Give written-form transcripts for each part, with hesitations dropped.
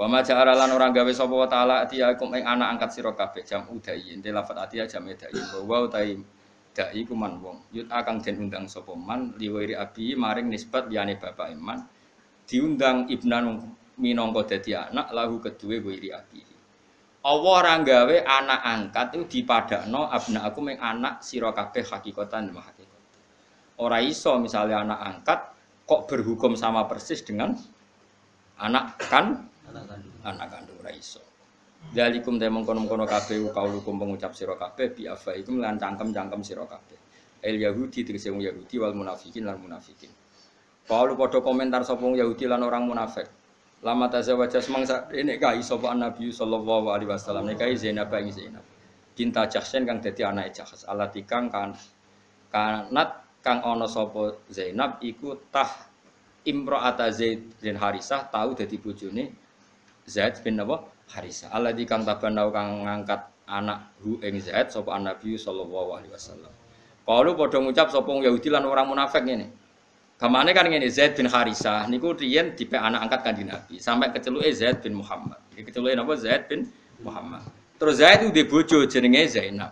Wa ma ja'ala lan ora gawe sapa wa ta'ala atiyakum ing anak angkat sira kabeh jam udai ente lafat atiya jam dai wa utai dai ku man wong yut akang den undang sapa man liwiri abi maring nisbat liyane bapak iman diundang ibnan minangka dadi anak lahu keduwe wiri abi Allah ora gawe anak angkat itu dipadakno abna aku ing anak sira kabeh hakikatan wa hakikat ora iso misalnya anak angkat kok berhukum sama persis dengan anak kandung ra iso. Dalikum te mengkono-kono kabeh kaulukum pengucap sira kabeh bi afaikum lan cangkem-cangkem sira kabeh. El Yahudi tegese wong Yahudi wal munafikin lan munafikin. Kaulu padha komentar sapa wong Yahudi lan orang munafik. Lama tazawaja semangsa nek kai sapa Nabi sallallahu alaihi wasallam nek kai Zainab ing Zainab. Cinta Jahsen kang dadi anake Jahs alatikang kanat kang ana sapa Zainab iku tah Imro'ata Zaid bin Harisah tahu dadi bojone Zaid bin Harisah. Alladzi kang tabanau kang ngangkat anak hu ing Zaid sapa Nabi sallallahu alaihi wasallam. Kalu padha ngucap sapa Yahudi lan orang munafik ngene. Gamane kan ngene Zaid bin Harisah niku riyen dipek anak angkat Kanjeng Nabi sampai keceluke Zaid bin Muhammad. Iki keceluke napa Zaid bin Muhammad. Terus Zaid itu di bojo jenenge Zainab.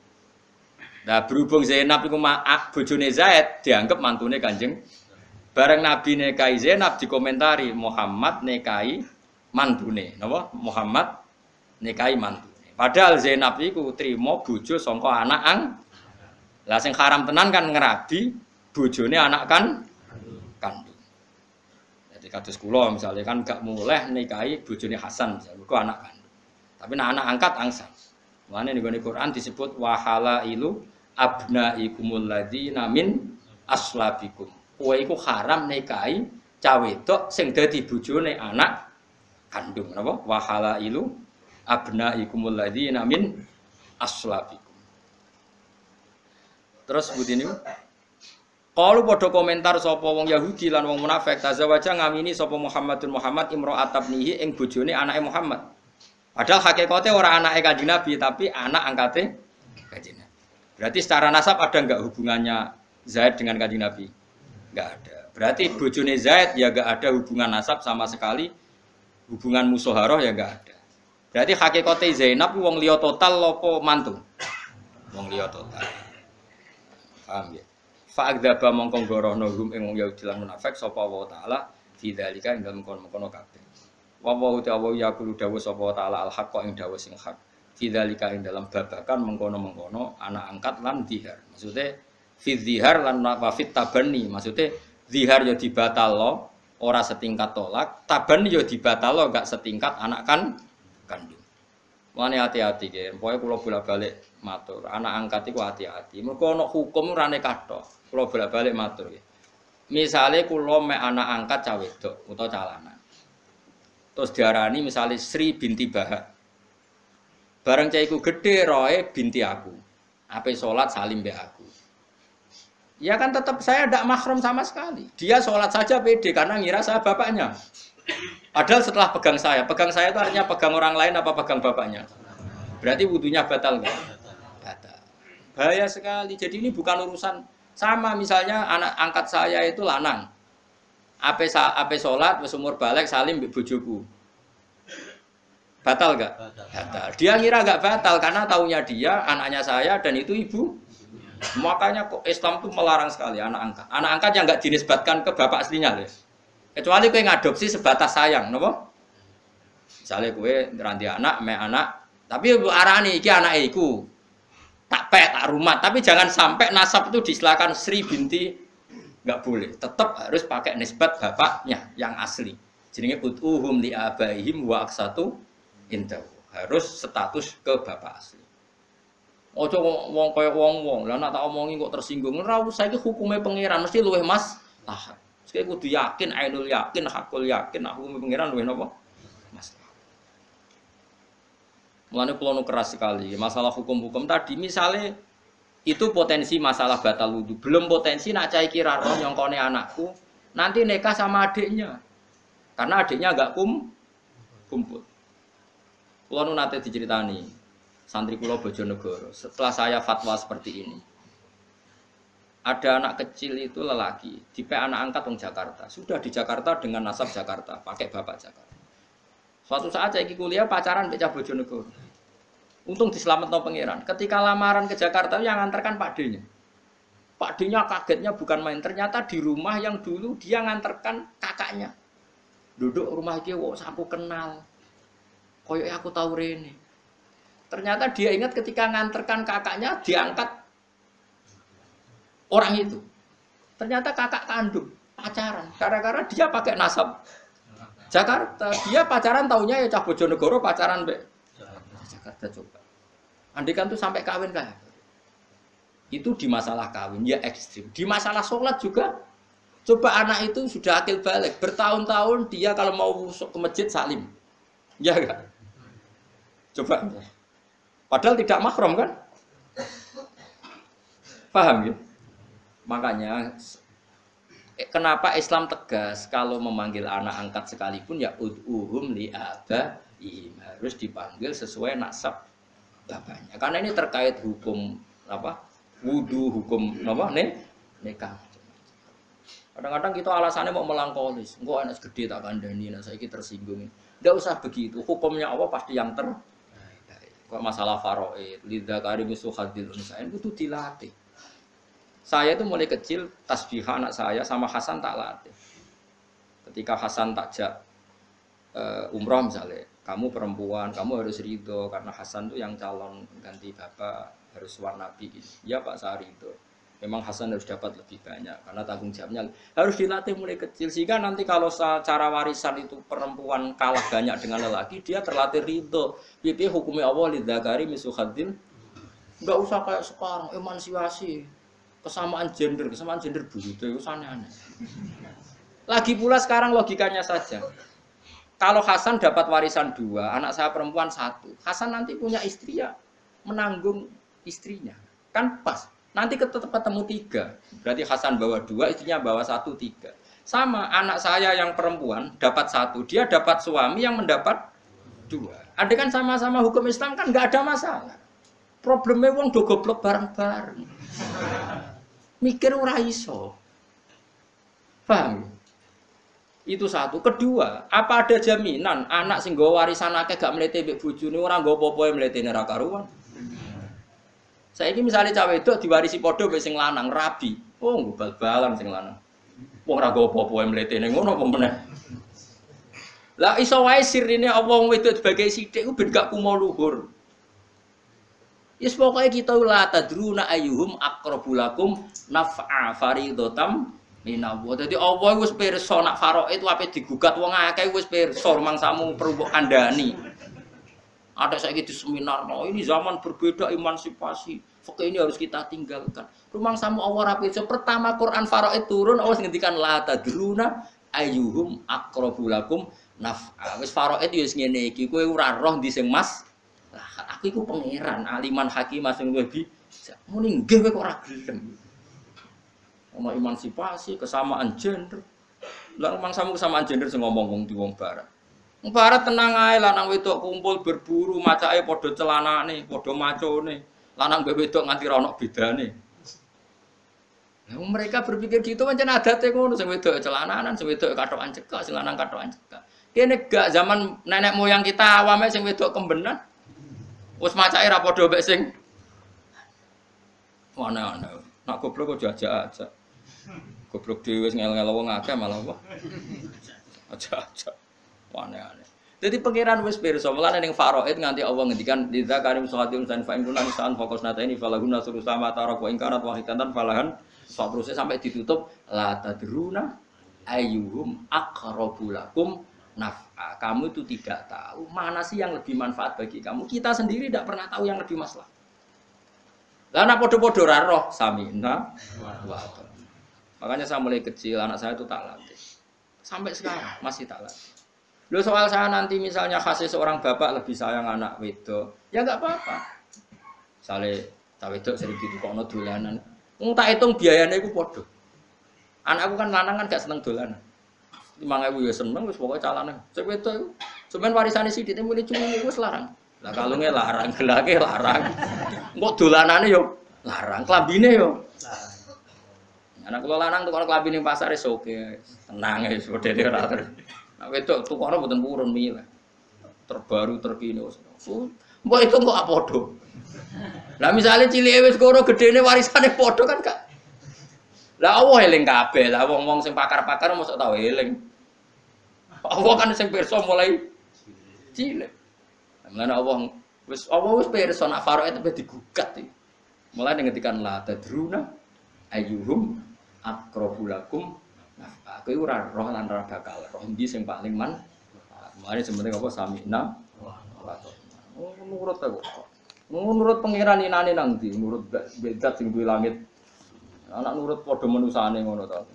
Nah berhubung Zainab iku bojone Zaid dianggap mantune Kanjeng bareng Nabi nekai Zainab dikomentari Muhammad nekai mantune, napa? Muhammad nekai mantune. Padahal Zainab iku trimo bojo saka anak Lah sing haram tenan kan ngerabi bojone anak kandung. Jadi kados kula misalnya kan gak muleh nekai bojone Hasan misalnya iku anak kandung. Tapi anak angkat angsal. Mane ning Quran disebut wahalailu abnaikumul ladzina min aslabikum. Kowe iku haram nikahi cah wedok sing dadi bojone anak kandung napa wa halailu abnaikumul ladzina min aslabikum. Terus budi niku kalau padha komentar sapa wong Yahudi lan wong munafik tazawaja ngamini sapa Muhammadun Muhammad imra'atabnihi ing bojone anake Muhammad. Padahal hakikate ora anake Kanjeng Nabi tapi anak angkate Kanjeng Nabi. Berarti secara nasab ada enggak hubungannya Zaid dengan Kanjeng Nabi? Enggak ada. Berarti bojone Zaid ya enggak ada hubungan nasab sama sekali. Hubungan musoharoh ya enggak ada. Berarti hakikate Zainab wong liya total apa mantu? Wong liya total. Paham ya? Fa'adzaba mongko gorohno hum ing wong Yahudi lan munafik sapa wa taala fi dzalika ing dalem kono-kono kabeh. Wa wa ta'ala yaqulu dawu sapa taala al-haqqa ing dawu sing hak. Fi dzalika ing dalem babakan mengkono-mengkono anak angkat lan dihar. Maksudnya fi dzihar lan wafit tabani, maksudnya zihar ya dibatalo ora setingkat tolak, taban ya dibatalo gak setingkat anak kandung. Mulane hati-hati nggih, pokoke kula bolak-balik matur, anak angkat iku hati-hati. Mergo ana hukum rane kathok. Kula bolak-balik matur nggih. Misale kula mek anak angkat cah wedok utawa cah lanang. Terus diarani misale Sri binti Bahak. Bareng cah iku gedhe roe binti aku. Ape salat salim mbek aku. Ya kan tetap saya tidak mahram sama sekali. Dia sholat saja pede karena ngira saya bapaknya. Padahal setelah pegang saya itu artinya pegang orang lain apa pegang bapaknya? Berarti wudunya batal nggak? Batal. Bahaya sekali. Jadi ini bukan urusan sama misalnya anak angkat saya itu lanang. Ape sholat, umur balik salim mbek bojoku. Batal nggak? Batal. Dia ngira nggak batal karena taunya dia anaknya saya dan itu ibu. Makanya kok Islam itu melarang sekali anak angkat. Anak angkat yang enggak dinisbatkan ke bapak aslinya, ya. Kecuali kowe ngadopsi sebatas sayang, napa? Misale kowe ngeranti anak, mek anak, tapi arani iki anake iku. Tak pek, tak rumat, tapi jangan sampai nasab itu disilakan Sri binti enggak boleh. Tetap harus pakai nisbat bapaknya yang asli. Jenenge utuhum li abaihim wa aqsatu indahu. Harus status ke bapak asli. Ojo wong kaya wong-wong. Lah nek tak omongi kok tersinggung. Ora usah iki hukume pangeran mesti luwih mas. Tahan. Sik kudu yakin, ainul yakin, hakul yakin, hukume pangeran luwih napa? Mas. Mulane kula nu keras sekali masalah hukum-hukum tadi misale itu potensi masalah batal wudu. Belum potensi nak cah iki ra roh nyongkone anakku nanti nikah sama adiknya. Karena adiknya enggak kumpul. Kula nu nate diceritani santri kula Bojonegoro, setelah saya fatwa seperti ini. Ada anak kecil itu lelaki, dipek anak angkat wong Jakarta. Sudah di Jakarta dengan nasab Jakarta, pakai bapak Jakarta. Suatu saat saya kuliah pacaran mbek cah Bojonegoro. Untung diselametno pangeran. Ketika lamaran ke Jakarta yang nganterkan Pak D-nya. Pak D-nya kagetnya bukan main. Ternyata di rumah yang dulu dia nganterkan kakaknya. Duduk rumah dia, wah aku kenal. Koyoknya aku tahu rene. Ternyata dia ingat ketika nganterkan kakaknya diangkat orang itu. Ternyata kakak kandung pacaran. Gara-gara dia pakai nasab Jakarta. Dia pacaran taunya ya cah Bojonegoro pacaran mbek Jakarta coba. Andikan tuh sampai kawin kan? Itu di masalah kawin ya ekstrim. Di masalah sholat juga. Coba anak itu sudah akil balik. Bertahun-tahun dia kalau mau ke masjid salim. Ya enggak? Coba. Padahal tidak mahram kan? Paham ya? Makanya kenapa Islam tegas kalau memanggil anak angkat sekalipun ya ud'uhum li abaihim harus dipanggil sesuai nasab bapaknya. Karena ini terkait hukum apa? Wudu, hukum apa? Nikah. Kadang-kadang kita alasannya mau melangkolis. Engko anak gede tak kandhani, nah saiki tersinggung. Enggak usah begitu. Hukumnya Allah pasti yang ter. Kok masalah faraid, lidzakari mislu hadzil unsayain itu dilatih. Saya itu mulai kecil tasbih anak saya sama Hasan tak latih. Ketika Hasan takjak umroh misalnya, kamu perempuan, kamu harus ridho karena Hasan tuh yang calon ganti bapak harus warna nabi. Ya Pak saya ridho. Memang Hasan harus dapat lebih banyak karena tanggung jawabnya harus dilatih mulai kecil sehingga nanti kalau secara warisan itu perempuan kalah banyak dengan lelaki dia terlatih ridho. Pipi hukumnya Allah lidzakari mislu hadzil. Enggak usah kayak sekarang emansipasi. Kesamaan gender begitu itu aneh-aneh. Lagi pula sekarang logikanya saja. Kalau Hasan dapat warisan 2, anak saya perempuan 1. Hasan nanti punya istri ya menanggung istrinya. Kan pas. Nanti tetap ketemu 3. Berarti Hasan bawa 2, istrinya bawa 1, 3. Sama anak saya yang perempuan dapat 1, dia dapat suami yang mendapat 2. Ada kan sama-sama hukum Islam kan nggak ada masalah. Problemnya wong do goblok bareng-bareng. Mikir ora iso. Paham? Itu satu. Kedua, apa ada jaminan anak sing nggawa warisan akeh gak mlete mbek bojone ora nggawa apa-apa mletene ra karuan. Saiki misale cah wedok diwarisi padha mbek sing lanang rabi. Oh, bal-balan sing lanang. Wong ora nggawa apa-apa mletene ngono apa meneh. Lah iso wae sirine Allah wong wedok sebagai sithik ku ben gak kumo luhur. Yes pokoknya kita la tadruna ayyuhum aqrabulakum naf'a faridotam minallah. Dadi Allah wis pirsa nak faraid ape digugat wong akeh wis pirsa mangsamu perlu mbok kandhani. Ada saiki di seminar, no, ini zaman berbeda emansipasi. Fakih ini harus kita tinggalkan. Rumangsamu Allah ra pirsa. Pertama Quran faraid turun Allah ngendikan la tadruna ayyuhum aqrabulakum naf'a. Wis faraid ya wis ngene iki, kowe ora roh ndi sing mas. Aku iku pangeran, aliman hakim sing luwih bisa. Muni nggih kowe kok ora gelem. Ono emansipasi, kesamaan gender. Lah mangsamu kesamaan gender sing ngomong wong di wong barat. Wong barat tenang ae lanang wedok kumpul berburu, macake padha celanane, padha macone. Lanang mbek wedok nganti ra ono bedane. Lah mereka berpikir gitu pancen adate ngono, sing wedok celananan, sing wedok katokan cekak, sing lanang katokan cekak. Kene gak zaman nenek moyang kita awame sing wedok kembenan. Wes macake ra padha mbek sing ana-ana. Nak goblok kok jajak-ajak. Goblok dhewe wis ngel-ngel wong akeh malah apa. Ajak-ajak. Aneh-aneh. Jadi pangeran wis pirsa, mulane ning faraid nganti Allah ngendikan lidza karim sahadim san fa inkunan san fokus nata ini falahuna surusama tarak wa ingkarat wahidatan falahan sabruse sampai ditutup la tadruna ayyuhum aqrabulakum naf'a. Kamu itu tidak tahu mana sih yang lebih manfaat bagi kamu. Kita sendiri tidak pernah tahu yang lebih maslahat. Lah anak podo-podo ra roh samina wa ata'na. Makanya saya mulai kecil anak saya itu tak latih. Sampai sekarang masih tak latih. Loh soal saya nanti misalnya kasih seorang bapak lebih sayang anak wedok, ya enggak apa-apa. Sale ta wedok sering ditukokno dolanan. Wong tak hitung biayane iku padha. Anakku kan lanang kan gak seneng dolanan. 5.000 ya seneng wis pokoke calane. Sing wedok iku sampean warisane sithik mulai cuwi wis larang. Lah kalunge larang, gelake larang. Engko dolanane yo larang, klambine yo larang. Anak kula lanang tukar klambi ning pasar wis oke. Tenang wis modele ora terus. Nek wedok tukokno mboten purun milih. terbaru terkini. Mbok itu kok padha. Lah misale cilike wis koro gedene warisane padha kan gak. Lah Allah eling kabeh. Lah wong-wong sing pakar-pakar mosok tau eling. Allah kan sing pirsa mulai cilik. Mulane Allah wis pirsa nak Faroe itu digugat iki. Mulai ngetikan la tadruna ayyuhum aqrabu lakum. Nah, aku iku ora roh lan ora bakal roh ndi sing paling man. Mulane sebenarnya apa samina wa ta'ala. Nurut aku. Nurut pangeran inane nang ndi? Nurut bedat sing duwe langit. Anak nurut padha manusane ngono to.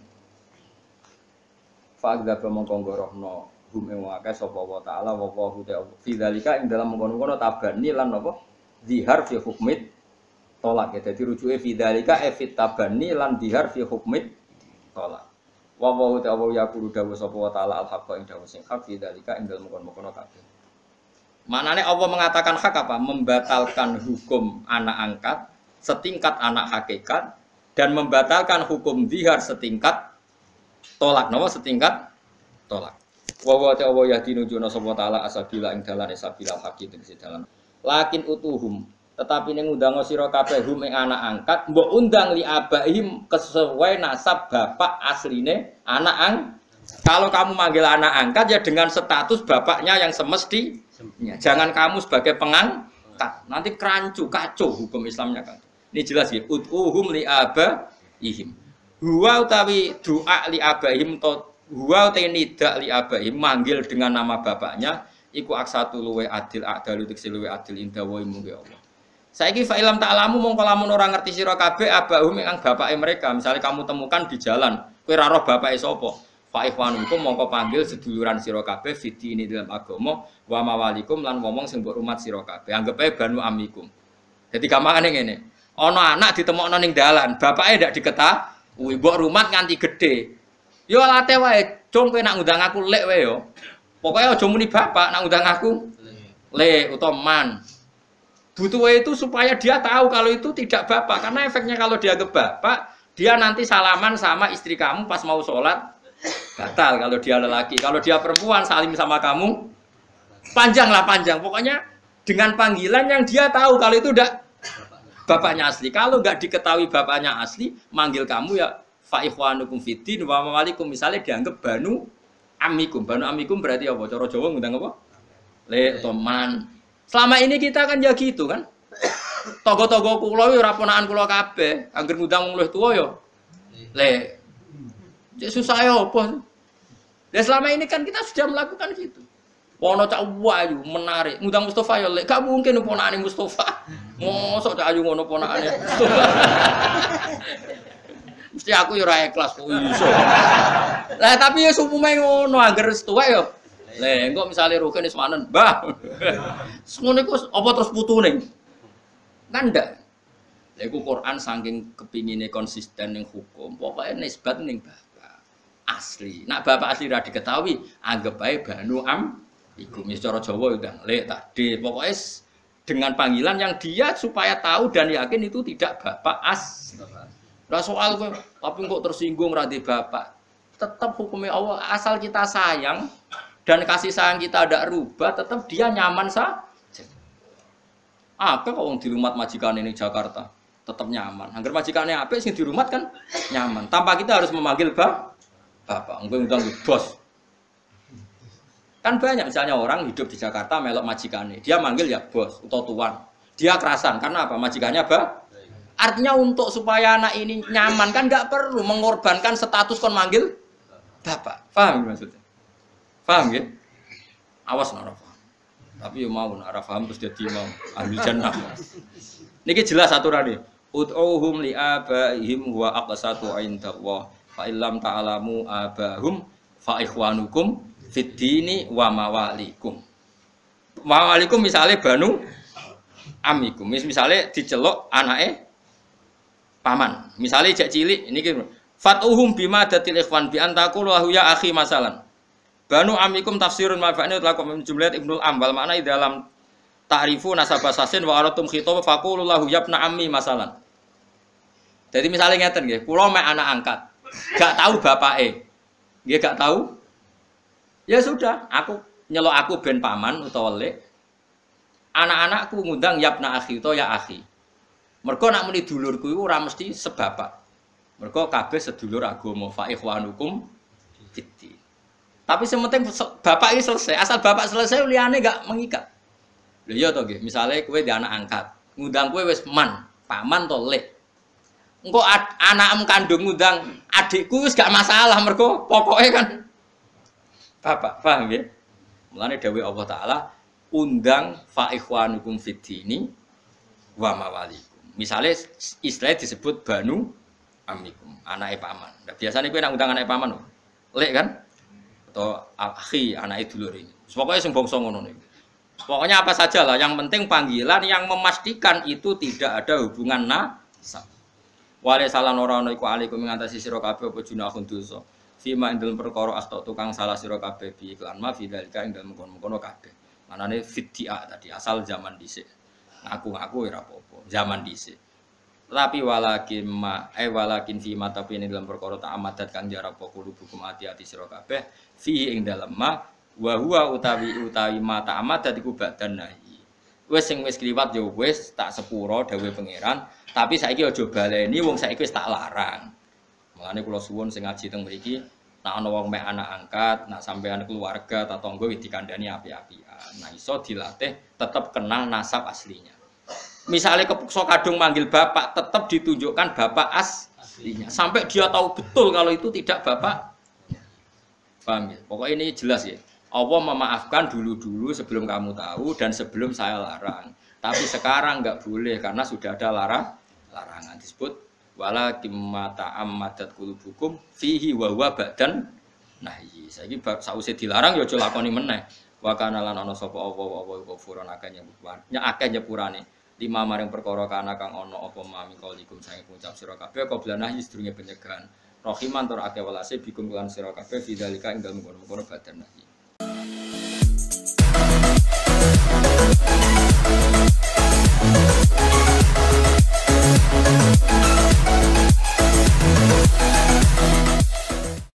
Fa'adza mongko ngorohno hum ing akeh sapa wa ta'ala wa hu ta'ala. Fi dzalika ing dalam mengkono-kono tabani lan apa? Zihar fi hukmit tolak ya. Dadi rujuke fi dzalika fit tabani lan zihar fi hukmit tolak. Wa hu ta'ala yaqulu dawu sapa wa ta'ala al-haqqa ing dawu sing hak fi dzalika ing dalam mengkono-kono kabeh. Maknane Allah mengatakan hak apa? Membatalkan hukum anak angkat setingkat anak hakikat dan membatalkan hukum zihar setingkat tolak. Napa setingkat tolak. Wa wa ta'ala yahdinu sapa ta'ala asabila ing dalane sabilal haqi tegese dalan. Lakin utuhum tetapi ning undang sira kabeh hum ing anak angkat mbok undang li abaihim kesesuai nasab bapak asline anak Kalau kamu manggil anak angkat ya dengan status bapaknya yang semestinya. Jangan kamu sebagai pengangkat. Nanti kerancu, kacau hukum Islamnya kan. Ini jelas ya. Ud'uhum li abaihim. Huwa utawi doa li abaihim to huwa utawi nida li abaihim manggil dengan nama bapaknya iku aksatu luwe adil adalu tekse luwe adil inda wa mungge Allah. Saiki fa ilam ta'lamu mongko lamun ora ngerti sira kabeh abahum ing bapake mereka. Misalnya kamu temukan di jalan, kowe ora roh bapake sapa. Fa ikhwanukum mongko panggil seduluran sira kabeh fiti ini dalam agama wa mawalikum lan ngomong sing mbok rumat sira kabeh. Anggap ae banu amikum. Dadi gampangane ngene. Ana anak ditemokno ning dalan, bapake ndak diketahui, mbok rumat nganti gedhe. Yo late wae, cung kowe nak ngundang aku lek wae yo. Pokoke aja muni bapak nak ngundang aku lek utawa man. Butuh itu supaya dia tahu kalau itu tidak bapak, karena efeknya kalau dia ke bapak, dia nanti salaman sama istri kamu pas mau sholat batal kalau dia lelaki. Kalau dia perempuan salim sama kamu panjang. Pokoknya dengan panggilan yang dia tahu kalau itu udah bapaknya asli. Kalau nggak diketahui bapaknya asli, manggil kamu ya fa ikhwanukum fiddin wa mawalikum, misalnya dianggap banu amikum. Banu amikum berarti apa? Cara Jawa ngundang apa? Le toman. Selama ini kita kan ya gitu kan. Togo-togo kula ora ponakan kula kabeh, anggere ngundang wong luwih tuwa ya. Le susah ya apa? Dan selama ini kan kita sudah melakukan gitu. Wono cak wayu menarik, ngundang Mustafa ya lek gak mungkin ponakane Mustafa. Mosok cak ayu ngono ponakane Mustafa. Mesti aku ya ora ikhlas kok iso. Lah tapi ya umume ngono anggere tuwa ya. Lah engko misale Rugen wis manen, Mbah. Ngono iku apa terus putune? Kan ndak. Lha iku Quran saking kepingine konsisten ning hukum, pokoke nisbat ning bapak asli. Nak bapak asli ra diketahui, anggap bae banu iku wis cara Jawa ndang lek tadi. Pokoke dengan panggilan yang dia supaya tahu dan yakin itu tidak bapak asli. Lah soal kowe tapi kok tersinggung ra di bapak. Tetap hukumnya Allah asal kita sayang dan kasih sayang kita ada rubah, tetap dia nyaman saja. Apa kok di rumah majikan ini Jakarta tetap nyaman. Angger majikannya apa sing di rumah kan nyaman. Tanpa kita harus memanggil bapak, ngundang bos. Kan banyak misalnya orang hidup di Jakarta melok majikannya, dia manggil ya bos atau tuan. Dia kerasan karena apa? Majikannya Artinya untuk supaya anak ini nyaman kan nggak perlu mengorbankan status kon manggil bapak. Paham maksudnya? Paham ya? Awas nara paham. Tapi ya mau nara paham terus jadi mau ahli jannah. Niki jelas aturannya. Ud'uhum li abaihim wa aqsatu indallah. Fa illam ta'lamu abahum fa ikhwanukum fid dini wa mawalikum. Mawalikum misalnya banu amikum. Misalnya diceluk anake paman. Misalnya jak cilik niki fatuhum bima datil ikhwan bi antaqulu ya akhi masalan. Banu amikum tafsirun ma'fa'ni lakum min jumlat Ibnul Ambal makna di dalam ta'rifu nasabah sasin wa aratum khitab faqulu lahu yabna ammi masalan. Jadi misalnya ngeten nggih, kula mek anak angkat, gak tahu bapake. Nggih gak tahu. Ya sudah, aku nyelok aku ben paman utawa lek. Anak-anakku ngundang yapna akhi utawa ya akhi. Mergo nak muni dulurku iku ora mesti sebapak. Mergo kabeh sedulur agama fa ikhwanukum fiddin. Tapi sementing bapak ini selesai. Asal bapak selesai liyane enggak mengikat. Lho iya to nggih, misale kowe di anak angkat, ngundang kowe wis man, paman to lek. Engko anakmu kandung ngundang adikku wis gak masalah mergo pokoke kan bapak, paham ya? Mulane dawuh Allah taala undang fa ikhwanukum fiddini wa mawalikum. Misale istilah disebut banu amikum, anake paman. Nah, biasanya kowe nak undang anake paman, lek kan? Atau akhi anake dulur ini. Pokoke sing bangsa ngono niku. Pokoknya apa saja lah, yang penting panggilan yang memastikan itu tidak ada hubungan nasab. Wale salah ora ana iku alaikum ngatasi sira kabeh apa junahun dosa. Fima ing dalem perkara akta tukang salah sira kabeh bi iklan ma fidzalika ing dalem kono-kono kabeh. Manane fiddia tadi asal zaman dhisik. Ngaku-ngaku ora apa-apa, zaman dhisik. Tapi walakin fima tapi ing dalem perkara tak amadat kang jarap kulo hukum ati-ati sira kabeh fi ing dalem ma wa huwa utawi mata amat dadiku badan nahi. Wis sing wis kliwat ya wis tak sepuro dawuh pangeran, tapi saiki aja baleni wong saiki wis tak larang. Mulane kula suwun sing ngaji teng mriki, nek ana wong mek anak angkat, nek sampean keluarga ta tangga wis dikandani api-apian. Nah iso dilatih tetap kenal nasab aslinya. Misalnya kepeksa kadung manggil bapak, tetap ditunjukkan bapak aslinya. Sampai dia tahu betul kalau itu tidak bapak. Paham ya? Pokoknya ini jelas ya. Allah memaafkan dulu-dulu sebelum kamu tahu dan sebelum saya larang. Tapi sekarang enggak boleh karena sudah ada larangan disebut wala kimata ammadat qulubukum fihi wa huwa badan nahyi. Saiki sause dilarang ya aja lakoni meneh. Wa kana lan ana sapa apa kufuran akeh nyepurane. Lima maring perkara kana kang ana apa mami kalikum sange ngucap sira kabeh qabla nahyi sedurunge penyegahan. Rahiman tur akeh welase bikum lan sira kabeh fidzalika ing dalem kono badan nahyi.